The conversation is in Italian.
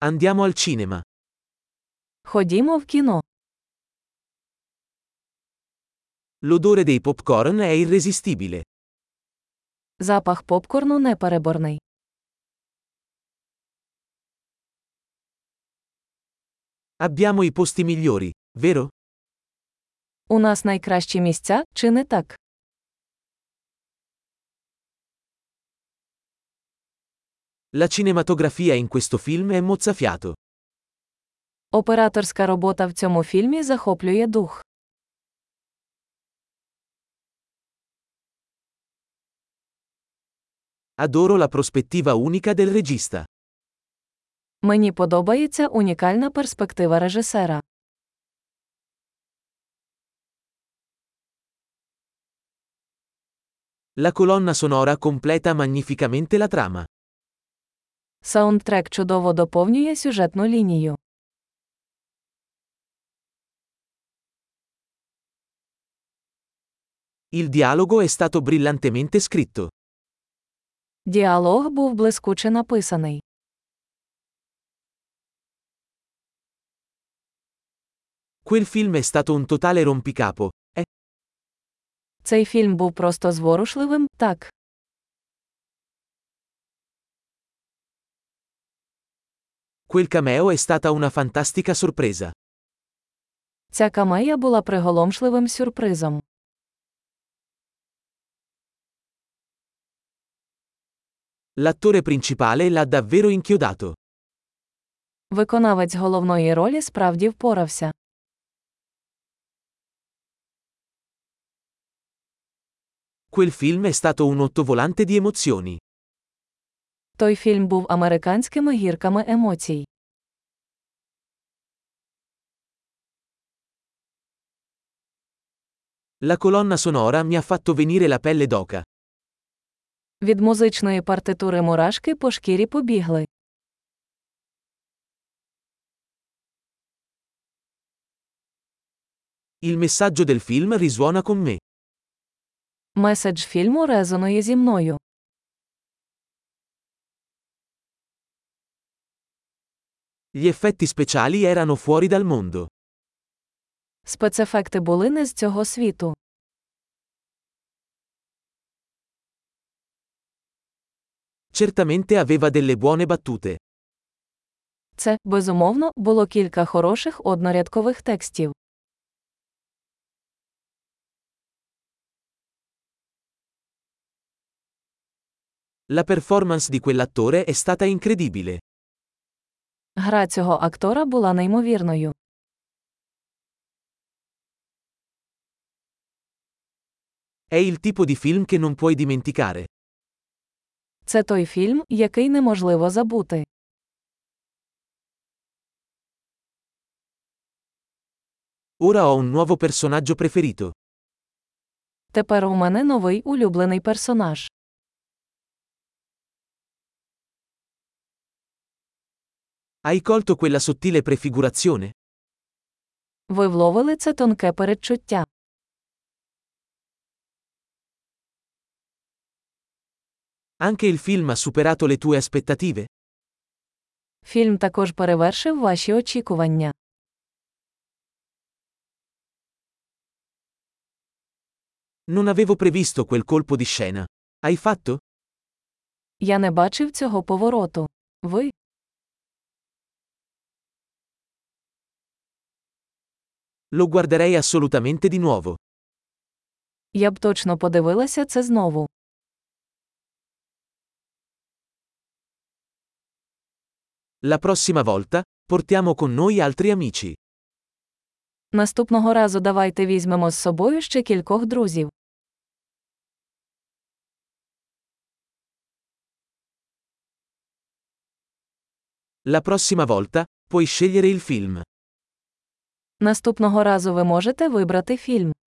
Andiamo al cinema. Ходімо в кіно. L'odore dei popcorn è irresistibile. Запах попкорну непереборний. Abbiamo i posti migliori, vero? У нас найкращі місця, чи не так? La cinematografia in questo film è mozzafiato. Операторська робота в цьому фільмі захоплює дух. Adoro la prospettiva unica del regista. Мені подобається унікальна перспектива режисера. La colonna sonora completa magnificamente la trama. Саундтрек чудово доповнює сюжетну лінію. Il dialogo è stato brillantemente scritto. Діалог був блискуче написаний. Quel film è stato un totale rompicapo. Цей фільм був просто зворушливим, так. Quel cameo è stata una fantastica sorpresa. Ця камея була приголомшливим сюрпризом. L'attore principale l'ha davvero inchiodato. Виконавець головної ролі справді впорався. Quel film è stato un ottovolante di emozioni. Той фільм був американськими гірками емоцій. La colonna sonora mi ha fatto venire la pelle d'oca. Від музичної партитури мурашки по шкірі побігли. Il messaggio del film risuona con me. Меседж фільму резонує зі мною. Gli effetti speciali erano fuori dal mondo. Спецефекти були не з цього світу. Certamente aveva delle buone battute. Це, безумовно, було кілька хороших однорядкових текстів. La performance di quell'attore è stata incredibile. Гра цього актора була неймовірною. È il tipo di film che non puoi dimenticare. Це той фільм, який неможливо забути. Ora ho un nuovo personaggio preferito. Тепер у мене новий улюблений персонаж. Hai colto quella sottile prefigurazione? Ви вловили це тонке передчуття. Anche il film ha superato le tue aspettative? Фільм також перевершив ваші очікування. Non avevo previsto quel colpo di scena. Hai fatto? Я не бачив цього повороту. Ви? Lo guarderei assolutamente di nuovo. Я б точно подивилася це знову. La prossima volta, portiamo con noi altri amici. Наступного разу давайте візьмемо з собою ще кількох друзів. La prossima volta, puoi scegliere il film. Наступного разу ви можете вибрати фільм.